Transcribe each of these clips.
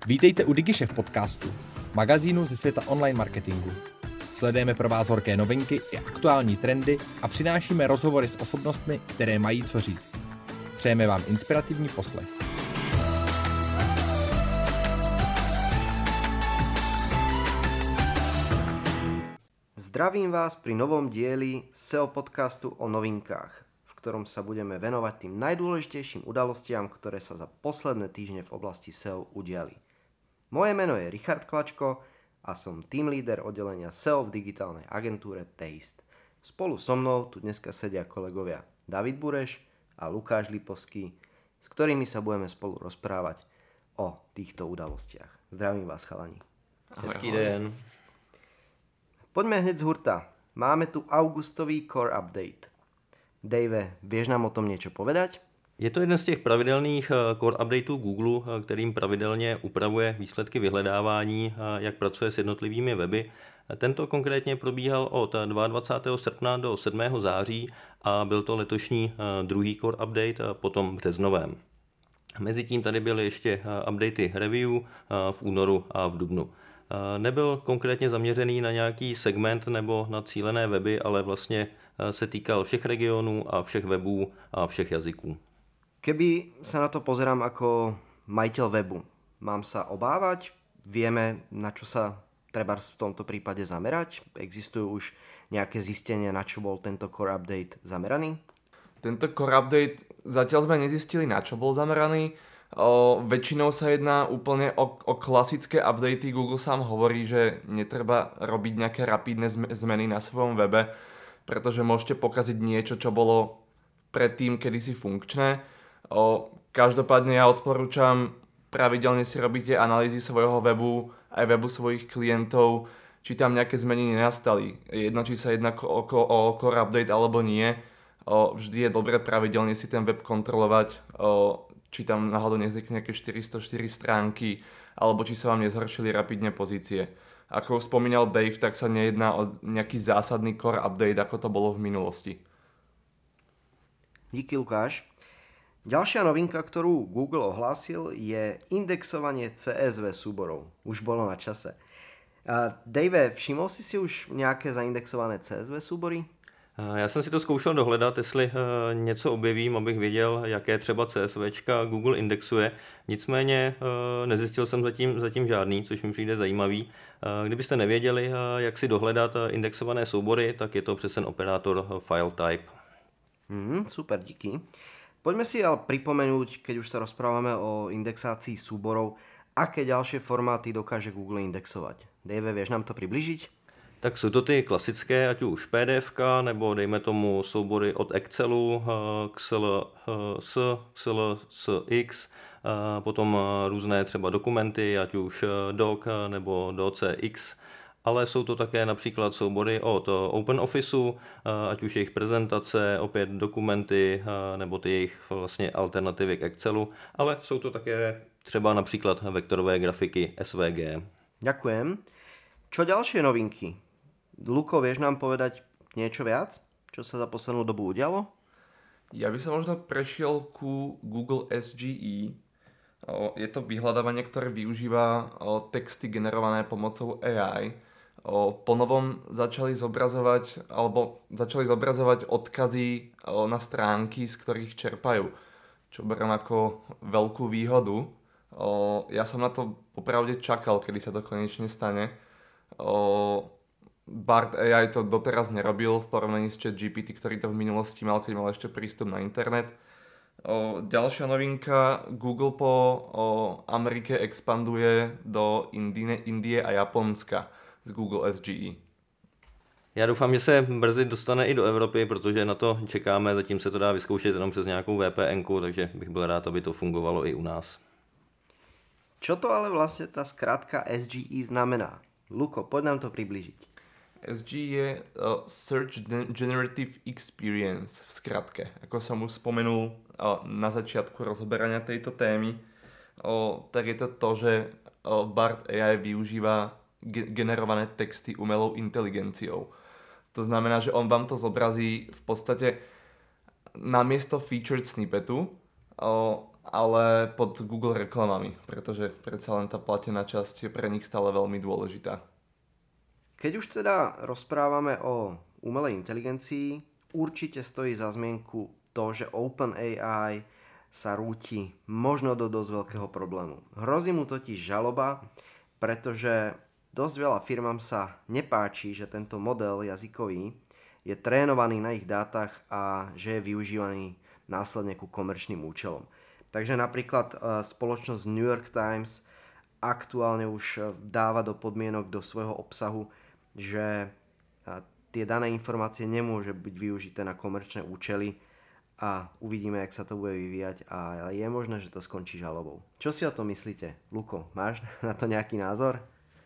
Vítejte u DigiShef podcastu, magazínu ze světa online marketingu. Sledujeme pro vás horké novinky i aktuální trendy a přinášíme rozhovory s osobnostmi, které mají co říct. Přejeme vám inspirativní poslech. Zdravím vás pri novom dieli SEO podcastu o novinkách, v ktorom sa budeme venovať tým najdôležitejším udalostiam, ktoré sa za posledné týždne v oblasti SEO udiali. Moje meno je Richard Klačko a som team leader oddelenia SEO v digitálnej agentúre Taste. Spolu so mnou tu dneska sedia kolegovia David Bureš a Lukáš Lipovský, s ktorými sa budeme spolu rozprávať o týchto udalostiach. Zdravím vás, chalani. Hezký den. Poďme hneď z hurta. Máme tu augustový core update. Dave, vieš nám o tom niečo povedať? Je to jeden z těch pravidelných core updateů Google, kterým pravidelně upravuje výsledky vyhledávání, jak pracuje s jednotlivými weby. Tento konkrétně probíhal od 22. srpna do 7. září a byl to letošní druhý core update po tom březnovém. Mezitím tady byly ještě updaty review v únoru a v dubnu. Nebyl konkrétně zaměřený na nějaký segment nebo na cílené weby, ale vlastně se týkal všech regionů a všech webů a všech jazyků. Keby sa na to pozerám ako majiteľ webu, mám sa obávať? Vieme, na čo sa treba v tomto prípade zamerať? Existujú už nejaké zistenia, na čo bol tento core update zameraný? Tento core update zatiaľ sme nezistili, na čo bol zameraný. Väčšinou sa jedná úplne o klasické updaty. Google sám hovorí, že netreba robiť nejaké rapidné zmeny na svojom webe, pretože môžete pokaziť niečo, čo bolo predtým kedysi funkčné. Každopádne ja odporúčam pravidelne si robiť analýzy svojho webu, aj webu svojich klientov, či tam nejaké zmeny nenastali. Jedno, či sa jedná o core update alebo nie. Vždy je dobré pravidelne si ten web kontrolovať, či tam náhodou nevznikne nejaké 404 stránky, alebo či sa vám nezhoršili rapidne pozície. Ako už spomínal Dave, tak sa nejedná o nejaký zásadný core update, ako to bolo v minulosti. Díky, Lukáš. Ďalšia novinka, ktorú Google ohlásil, je indexovanie CSV súborov. Už bolo na čase. Dave, všimol si už nejaké zaindexované CSV súbory? Já jsem si to zkoušel dohledat, jestli něco objevím, abych věděl, jaké třeba CSVčka Google indexuje. Nicméně nezjistil jsem zatím žádný, což mi přijde zajímavý. Kdybyste nevěděli, jak si dohledat indexované soubory, tak je to přes ten operátor file type. Super, díky. Poďme si ale pripomenúť, keď už sa rozprávame o indexácii súborov, aké ďalšie formáty dokáže Google indexovať. Dave, vieš nám to približiť? Tak jsou to ty klasické, ať už PDF, nebo dejme tomu soubory od Excelu, XLSX, potom různé třeba dokumenty, ať už Doc nebo DocX, ale jsou to také například soubory od OpenOfficeu, ať už jejich prezentace, opět dokumenty, nebo ty jejich vlastně alternativy k Excelu, ale jsou to také třeba například vektorové grafiky SVG. Ďakujem. Čo ďalšie novinky? Luko, vieš nám povedať niečo viac? Čo sa za poslednú dobu udialo? Ja by som možno prešiel ku Google SGE. Je to vyhľadávanie, ktoré využíva texty generované pomocou AI. Ponovom začali zobrazovať odkazy na stránky, z ktorých čerpajú, čo beriem ako veľkú výhodu. Ja som na to popravde čakal, kedy sa to konečne stane. Bard AI to doteraz nerobil v porovnaní s ChatGPT, ktorý to v minulosti mal, keď mal ešte prístup na internet. Ďalšia novinka, Google po Amerike expanduje do Indie a Japonska z Google SGE. Já doufám, že se brzy dostane i do Evropy, protože na to čekáme, zatím se to dá vyzkoušet jenom přes nějakou VPN-ku, takže bych byl rád, aby to fungovalo i u nás. Čo to ale vlastne tá skratka SGE znamená? Luko, poď nám to priblížiť. SGE je Search Generative Experience v skratke. Ako som už spomenul na začiatku rozoberania tejto témy, tak je to to, že Bard AI využíva generované texty umelou inteligenciou. To znamená, že on vám to zobrazí v podstate namiesto featured snippetu ale pod Google reklamami, pretože predsa len tá platená časť je pre nich stále veľmi dôležitá. Keď už teda rozprávame o umelej inteligencii, určite stojí za zmienku to, že OpenAI sa rúti možno do dosť veľkého problému. Hrozí mu totiž žaloba, pretože dosť veľa firmám sa nepáči, že tento model jazykový je trénovaný na ich dátach a že je využívaný následne ku komerčným účelom. Takže napríklad spoločnosť New York Times aktuálne už dáva do podmienok do svojho obsahu, že tie dané informácie nemôže byť využité na komerčné účely a uvidíme, jak sa to bude vyvíjať a je možné, že to skončí žalobou. Čo si o tom myslíte? Luko, máš na to nejaký názor?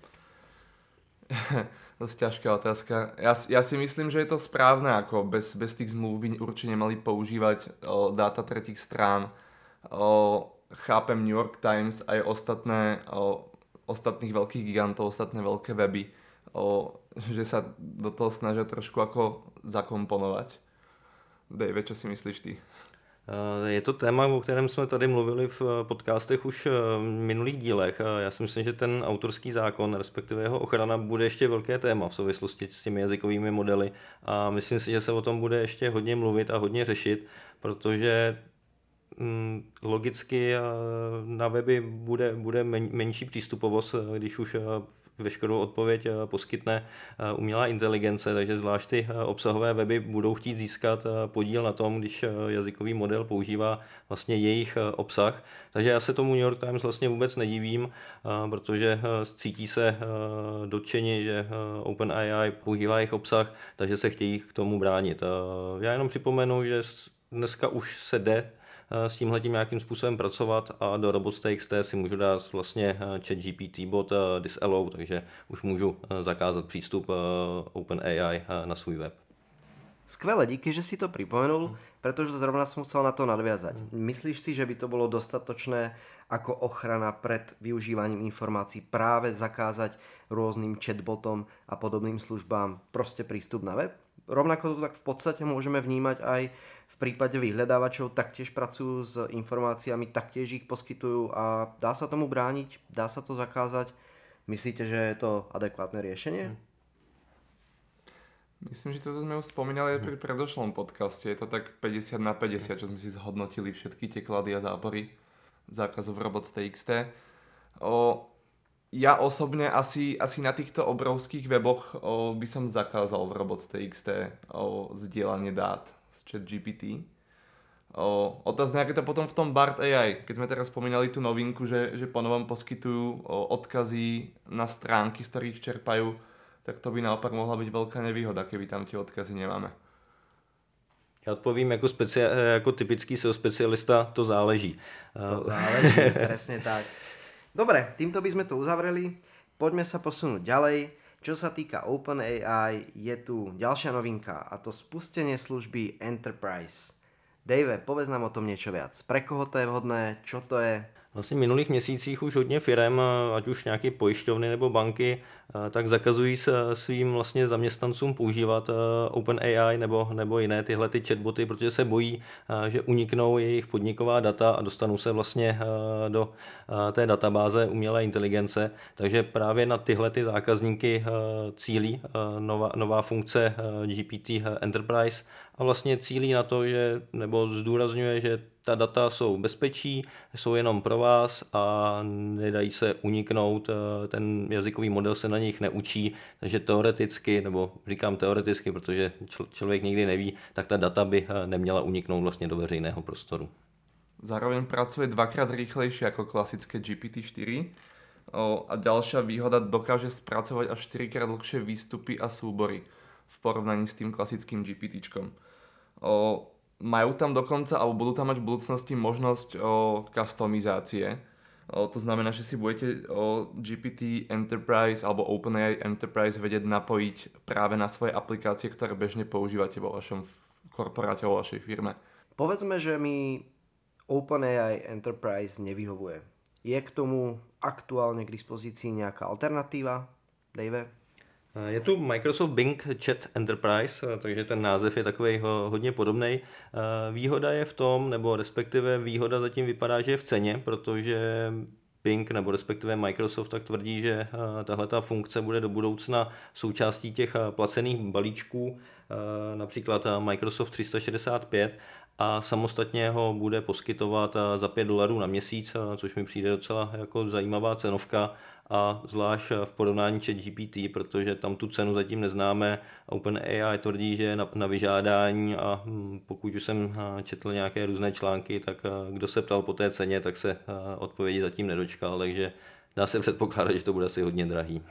Dosť ťažká otázka. Ja si myslím, že je to správne, ako bez tých zmluv by určite nemali používať dáta tretích strán. Chápem New York Times aj ostatných veľkých gigantov, ostatné veľké weby, že sa do toho snažia trošku ako zakomponovať. Dave, čo si myslíš ty? Je to téma, o kterém jsme tady mluvili v podcastech už v minulých dílech. Já si myslím, že ten autorský zákon, respektive jeho ochrana, bude ještě velké téma v souvislosti s těmi jazykovými modely a myslím si, že se o tom bude ještě hodně mluvit a hodně řešit, protože logicky na weby bude menší přístupovost, když už veškerou odpověď poskytne umělá inteligence, takže zvlášť ty obsahové weby budou chtít získat podíl na tom, když jazykový model používá vlastně jejich obsah. Takže já se tomu New York Times vlastně vůbec nedivím, protože cítí se dotčeni, že OpenAI používá jejich obsah, takže se chtějí k tomu bránit. Já jenom připomenu, že dneska už se jde s tímhletím nějakým způsobem pracovat a do robots.txt si můžu dát vlastně ChatGPT bot disallow, takže už můžu zakázat přístup OpenAI na svůj web. Skvelé, díky, že si to pripomenul, pretože zrovna som chcel na to nadviazať. Myslíš si, že by to bolo dostatočné ako ochrana pred využívaním informácií práve zakázať rôznym chatbotom a podobným službám proste prístup na web? Rovnako to tak v podstate môžeme vnímať aj v prípade vyhľadávačov, taktiež pracujú s informáciami, taktiež ich poskytujú a dá sa tomu brániť, dá sa to zakázať. Myslíte, že je to adekvátne riešenie? Myslím, že toto sme už spomínali aj pri predošlom podcaste. Je to tak 50/50, čo sme si zhodnotili všetky tie klady a zápory zákazov robots.txt. Ja osobne asi na týchto obrovských weboch by som zakázal v robots.txt zdieľanie dát z ChatGPT. Otázne, aké to potom v tom Bard AI, keď sme teraz spomínali tú novinku, že ponovom poskytujú odkazy na stránky, z ktorých čerpajú, tak to by naopak mohla byť veľká nevýhoda, keby tam tie odkazy nemáme. Já odpovím jako typický SEO specialista, to záleží. To záleží, presne tak. Dobre, týmto by sme to uzavreli. Poďme sa posunúť ďalej. Čo sa týka OpenAI, je tu ďalšia novinka a to spustenie služby Enterprise. Dave, povedz nám o tom niečo viac. Pre koho to je vhodné? Čo to je? Vlastně v minulých měsících už hodně firem, ať už nějaké pojišťovny nebo banky, tak zakazují svým vlastně zaměstnancům používat OpenAI nebo jiné tyhle ty chatboty, protože se bojí, že uniknou jejich podniková data a dostanou se vlastně do té databáze umělé inteligence. Takže právě na tyhle ty zákazníky cílí nová funkce GPT Enterprise a vlastně cílí na to, že nebo zdůrazňuje, že ta data jsou bezpečí, jsou jenom pro vás a nedají se uniknout, ten jazykový model se na nich neučí, takže teoreticky, nebo říkám teoreticky, protože člověk nikdy neví, tak ta data by neměla uniknout vlastně do veřejného prostoru. Zároveň pracuje dvakrát rýchlejšie ako klasické GPT-4 a ďalšia výhoda, dokáže spracovať až 4-krát dlhšie výstupy a súbory v porovnaní s tým klasickým GPTčkom. Majú tam dokonca, alebo budú tam mať v budúcnosti možnosť customizácie. To znamená, že si budete GPT Enterprise alebo OpenAI Enterprise vedieť napojiť práve na svoje aplikácie, ktoré bežne používate vo vašom korporáte, vo vašej firme. Povedzme, že mi OpenAI Enterprise nevyhovuje. Je k tomu aktuálne k dispozícii nejaká alternatíva, Dave? Je tu Microsoft Bing Chat Enterprise, takže ten název je takový hodně podobný. Výhoda je v tom, nebo respektive výhoda zatím vypadá, že je v ceně, protože Bing nebo respektive Microsoft tak tvrdí, že tahleta funkce bude do budoucna součástí těch placených balíčků, například Microsoft 365, a samostatně ho bude poskytovat za $5 na měsíc, což mi přijde docela jako zajímavá cenovka, a zvlášť v porovnání ChatGPT, protože tam tu cenu zatím neznáme. OpenAI tvrdí, že je na vyžádání, a pokud už jsem četl nějaké různé články, tak kdo se ptal po té ceně, tak se odpovědi zatím nedočkal, takže dá se předpokládat, že to bude asi hodně drahý.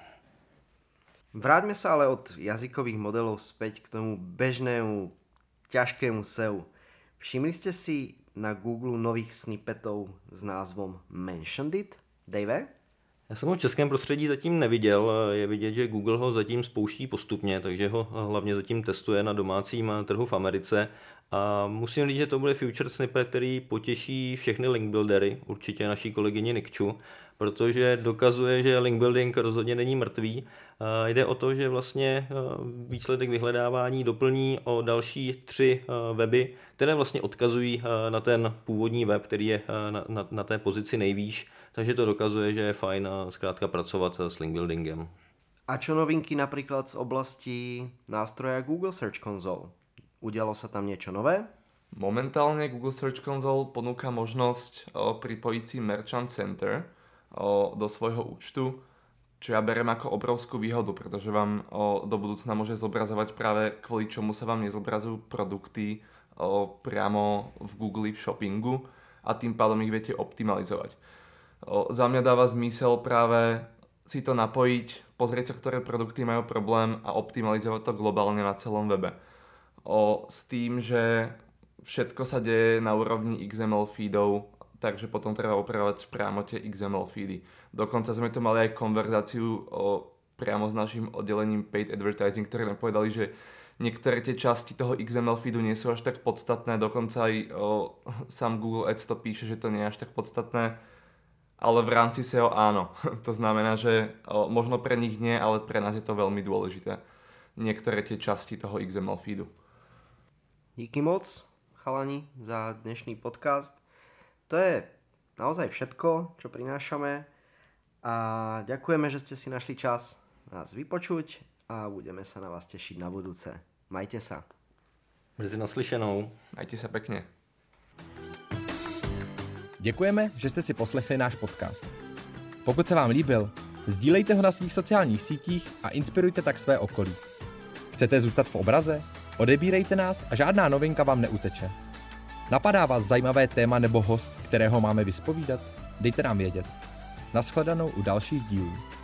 Vráťme sa ale od jazykových modelov späť k tomu bežnému, ťažkému SEO. Všimli ste si na Google nových snippetov s názvom Mentioned It? Dave? Já jsem ho v českém prostředí zatím neviděl, je vidět, že Google ho zatím spouští postupně, takže ho hlavně zatím testuje na domácím trhu v Americe. A musím říct, že to bude feature snippet, který potěší všechny link buildery, určitě naší kolegyni Nikču, protože dokazuje, že link building rozhodně není mrtvý. Jde o to, že vlastně výsledek vyhledávání doplní o další 3 weby, které vlastně odkazují na ten původní web, který je na té pozici nejvýš, takže to dokazuje, že je fajn zkrátka pracovat s link buildingem. A čo novinky napríklad z oblasti nástroja Google Search Console? Udialo sa tam niečo nové? Momentálne Google Search Console ponúka možnosť pripojiť si Merchant Center do svojho účtu, čo ja beriem ako obrovskú výhodu, pretože vám do budúcna môže zobrazovať práve kvôli čomu sa vám nezobrazujú produkty priamo v Google, v shoppingu, a tým pádom ich viete optimalizovať. Za mňa dáva zmysel práve si to napojiť, pozrieť sa, ktoré produkty majú problém a optimalizovať to globálne na celom webe. S tým, že všetko sa deje na úrovni XML feedov, takže potom treba opravovať priamo tie XML feedy. Dokonca sme tu mali aj konverzáciu priamo s našim oddelením Paid Advertising, ktoré nám povedali, že niektoré tie časti toho XML feedu nie sú až tak podstatné, dokonca aj sám Google Ads to píše, že to nie je až tak podstatné, ale v rámci SEO áno. To znamená, že možno pre nich nie, ale pre nás je to veľmi dôležité. Niektoré tie časti toho XML feedu. Díky moc, chalani, za dnešný podcast. To je naozaj všetko, čo prinášame, a ďakujeme, že ste si našli čas nás vypočuť a budeme sa na vás tešiť na budúce. Majte sa. Brzy naslyšenou. Majte sa pekne. Děkujeme, že jste si poslechli náš podcast. Pokud se vám líbil, sdílejte ho na svých sociálních sítích a inspirujte tak své okolí. Chcete zůstat v obraze? Odebírejte nás a žádná novinka vám neuteče. Napadá vás zajímavé téma nebo host, kterého máme vyspovídat? Dejte nám vědět. Nashledanou u dalších dílů.